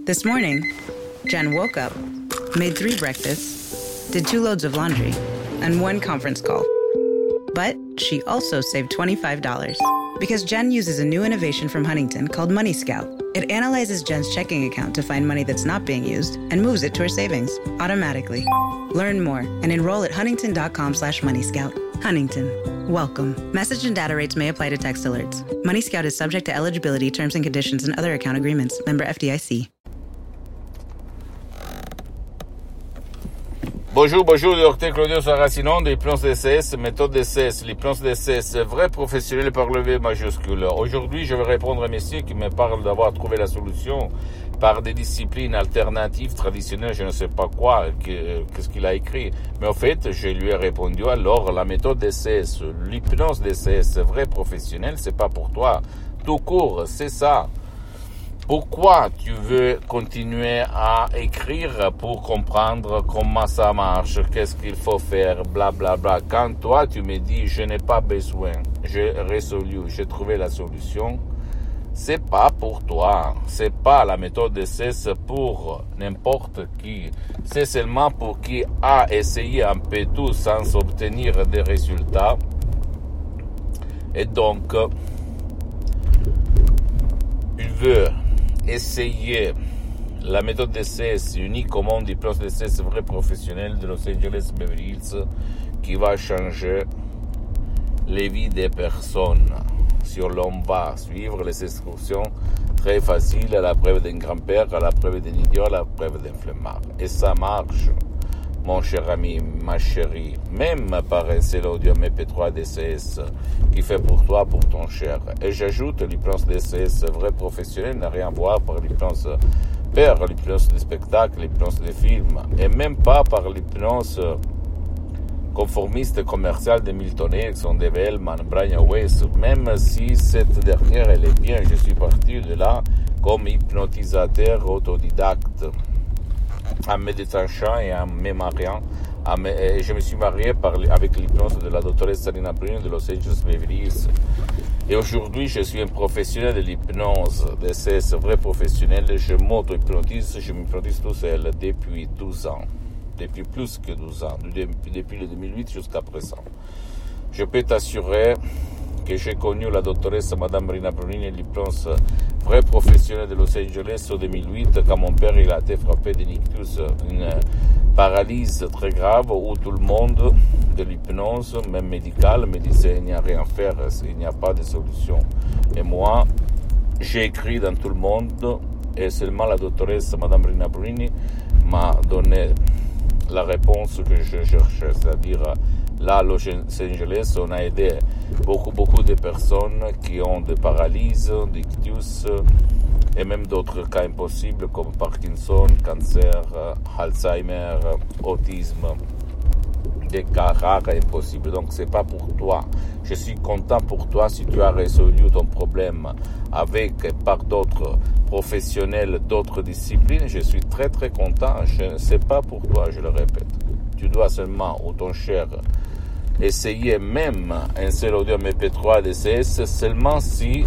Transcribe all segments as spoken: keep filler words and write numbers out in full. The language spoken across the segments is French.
This morning, Jen woke up, made three breakfasts, did two loads of laundry, and one conference call. But she also saved twenty-five dollars because Jen uses a new innovation from Huntington called Money Scout. It analyzes Jen's checking account to find money that's not being used and moves it to her savings automatically. Learn more and enroll at huntington.com slash money scout. Huntington. Welcome. Message and data rates may apply to text alerts. Money Scout is subject to eligibility, terms and conditions, and other account agreements. Member F D I C. Bonjour, bonjour, docteur Claudio Saracino de l'hypnose D C S, méthode D C S, l'hypnose D C S, vrai professionnel par le V majuscule. Aujourd'hui, je vais répondre à un monsieur qui me parle d'avoir trouvé la solution par des disciplines alternatives, traditionnelles, je ne sais pas quoi, qu'est-ce qu'il a écrit. Mais en fait, je lui ai répondu, alors, la méthode D C S, l'hypnose D C S, vrai professionnel, c'est pas pour toi. Tout court, c'est ça. Pourquoi tu veux continuer à écrire pour comprendre comment ça marche, qu'est-ce qu'il faut faire, bla bla bla. Quand toi tu me dis je n'ai pas besoin, j'ai résolu, j'ai trouvé la solution, c'est pas pour toi, c'est pas la méthode D C S pour n'importe qui, c'est seulement pour qui a essayé un peu tout sans obtenir des résultats. Et donc, il veut essayer la méthode D C S unique au monde d'hypnose D C S vrai professionnel de Los Angeles Beverly Hills qui va changer les vies des personnes. Si l'on va suivre les instructions très faciles à la preuve d'un grand-père, à la preuve d'un idiot, à la preuve d'un flemmard. Et ça marche, mon cher ami, ma chérie, même par un seul audio M P trois D C S qui fait pour toi, pour ton cher. Et j'ajoute, l'hypnose D C S vrai professionnel n'a rien à voir par l'hypnose père, l'hypnose de spectacle, l'hypnose de film, et même pas par l'hypnose conformiste commerciale de Milton Erickson, de Hellman, Brian Weiss, même si cette dernière, elle est bien, je suis parti de là comme hypnotisateur autodidacte, en méditation et en me mariant. Et je me suis marié par, avec l'hypnose de la doctoresse Salina Bruno de Los Angeles Beverly Hills. Et aujourd'hui, je suis un professionnel de l'hypnose, de ce vrai professionnel. Je m'auto-hypnotise, je m'hypnotise tout seul depuis douze ans. Depuis plus que douze ans, depuis, depuis le deux mille huit jusqu'à présent. Je peux t'assurer que j'ai connu la doctoresse Madame Rina Brunini, l'hypnose vrai professionnel de Los Angeles en deux mille huit, quand mon père il a été frappé d'un ictus, une paralysie très grave où tout le monde de l'hypnose, même médicale, me disait il n'y a rien à faire, il n'y a pas de solution. Et moi, j'ai écrit dans tout le monde et seulement la doctoresse Madame Rina Brunini m'a donné la réponse que je cherchais, c'est-à-dire là à Los Angeles, on a aidé beaucoup, beaucoup de personnes qui ont des paralyses, des ictus et même d'autres cas impossibles comme Parkinson, cancer, Alzheimer, autisme, des cas rares et impossibles. Donc c'est pas pour toi. Je suis content pour toi si tu as résolu ton problème avec et par d'autres professionnels, d'autres disciplines. Je suis très très content. Je ne sais pas pour toi, je le répète. Tu dois seulement, ou ton cher, essayer même un seul audio M P trois D C S seulement si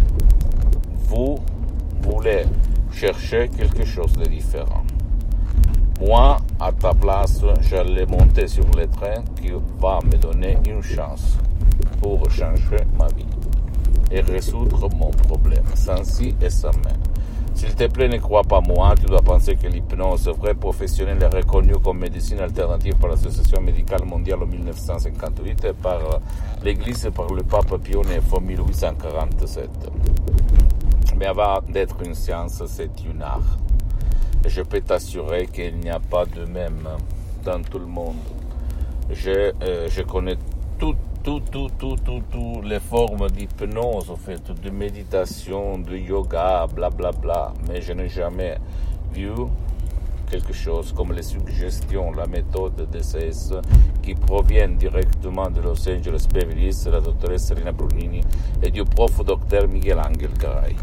vous voulez chercher quelque chose de différent. Moi, à ta place, j'allais monter sur le train qui va me donner une chance pour changer ma vie et résoudre mon problème, sans si et sans mais. S'il te plaît, ne crois pas moi, tu dois penser que l'hypnose vrai professionnelle est reconnue comme médecine alternative par l'Association médicale mondiale en mille neuf cent cinquante-huit et par l'Église et par le pape Pie neuf en mille huit cent quarante-sept. Mais avant d'être une science, c'est une art. Et je peux t'assurer qu'il n'y a pas de même dans tout le monde. Je, euh, je connais tout, tout, tout, tout, tout, tout les formes d'hypnose, en fait, de méditation, de yoga, bla, bla, bla. Mais je n'ai jamais vu quelque chose comme les suggestions, la méthode D C S qui proviennent directement de Los Angeles Beverly Hills, la doctoresse Rina Brunini et du prof docteur Miguel Angel Garay.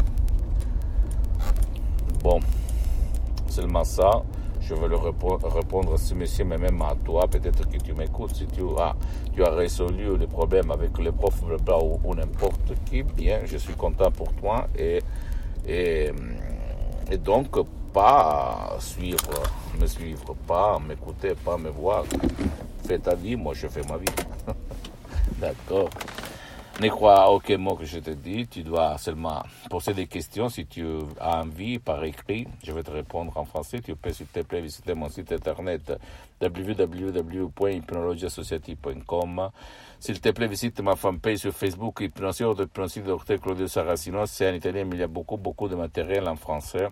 Bon. Seulement ça, je vais le répondre à ce monsieur, mais même à toi, peut-être que tu m'écoutes, si tu as, tu as résolu les problèmes avec les profs ou, ou n'importe qui, bien, je suis content pour toi, et, et, et donc, pas suivre, me suivre, pas m'écouter, pas me voir. Fais ta vie, moi je fais ma vie. D'accord. Ne crois aucun mot que je te dis, tu dois seulement poser des questions si tu as envie par écrit. Je vais te répondre en français. Tu peux s'il te plaît visiter mon site internet w w w point hypnologie associative point com. S'il te plaît visite ma fanpage sur Facebook Hypnosie de Hypnosie de docteur Claudio Saracino. C'est en italien mais il y a beaucoup beaucoup de matériel en français.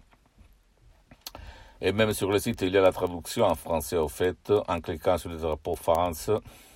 Et même sur le site il y a la traduction en français au fait en cliquant sur le drapeau France.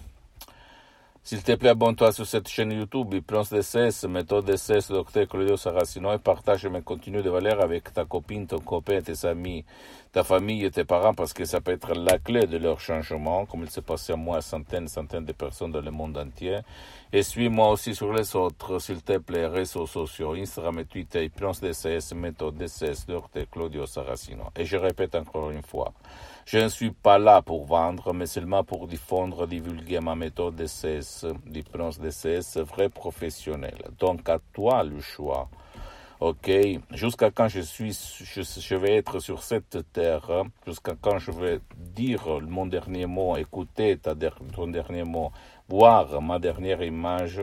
S'il te plaît, abonne-toi sur cette chaîne YouTube, Hypnose D C S, méthode D C S, docteur Claudio Saracino, et partage mes contenus de valeur avec ta copine, ton copain, tes amis, ta famille et tes parents, parce que ça peut être la clé de leur changement, comme il s'est passé à moi, à centaines, centaines de personnes dans le monde entier. Et suis-moi aussi sur les autres, s'il te plaît, réseaux sociaux, Instagram et Twitter, Hypnose D C S, méthode D C S, docteur Claudio Saracino. Et je répète encore une fois, je ne suis pas là pour vendre, mais seulement pour diffondre, divulguer ma méthode D C S, l'hypnose D C S, vrai professionnel. Donc, à toi le choix. Ok? Jusqu'à quand je suis, je, je vais être sur cette terre, jusqu'à quand je vais dire mon dernier mot, écouter ta, ton dernier mot, voir ma dernière image.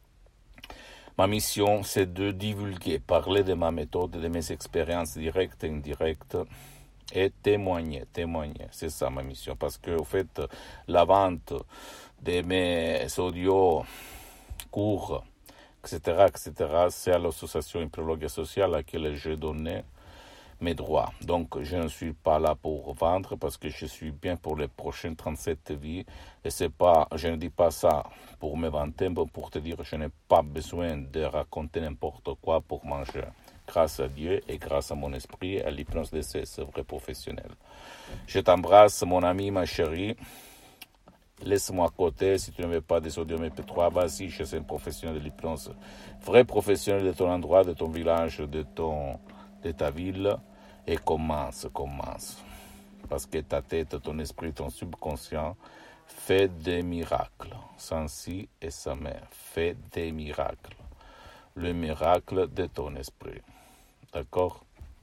Ma mission, c'est de divulguer, parler de ma méthode, de mes expériences directes et indirectes, et témoigner, témoigner, c'est ça ma mission, parce que au fait, la vente de mes audios, cours, et cetera, et cetera, c'est à l'association Hypnologie sociale à laquelle j'ai donné mes droits. Donc, je ne suis pas là pour vendre parce que je suis bien pour les prochaines trente-sept vies, et c'est pas, je ne dis pas ça pour me vanter, mais pour te dire que je n'ai pas besoin de raconter n'importe quoi pour manger. Grâce à Dieu et grâce à mon esprit et à l'hypnose D C S, vrai professionnel. Je t'embrasse, mon ami, ma chérie. Laisse-moi à côté, si tu ne veux pas des audios M P trois, vas-y, je suis un professionnel de l'hypnose. Vrai professionnel de ton endroit, de ton village, de, ton, de ta ville. Et commence, commence. Parce que ta tête, ton esprit, ton subconscient fait des miracles. Sans si et sa mère fait des miracles. Le miracle de ton esprit. D'accord?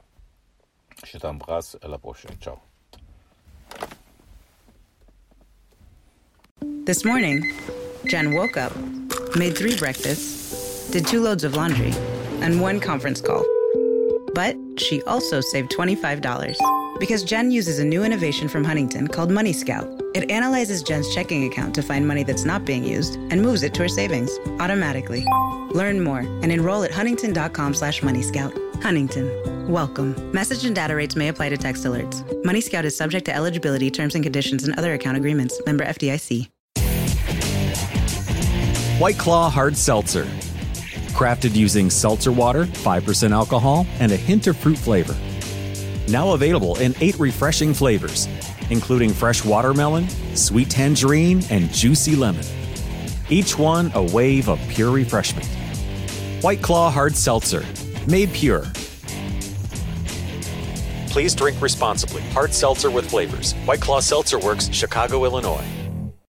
Je t'embrasse, à la prochaine. Ciao. This morning, Jen woke up, made three breakfasts, did two loads of laundry, and one conference call. But she also saved twenty-five dollars because Jen uses a new innovation from Huntington called Money Scout. It analyzes Jen's checking account to find money that's not being used and moves it to her savings automatically. Learn more and enroll at huntington.com slash money scout. Huntington. Welcome. Message and data rates may apply to text alerts. Money Scout is subject to eligibility, terms and conditions, and other account agreements. Member F D I C. White Claw Hard Seltzer. Crafted using seltzer water, five percent alcohol, and a hint of fruit flavor. Now available in eight refreshing flavors, including fresh watermelon, sweet tangerine, and juicy lemon. Each one a wave of pure refreshment. White Claw Hard Seltzer. Made pure. Please drink responsibly. Hard seltzer with flavors. White Claw Seltzer Works, Chicago, Illinois.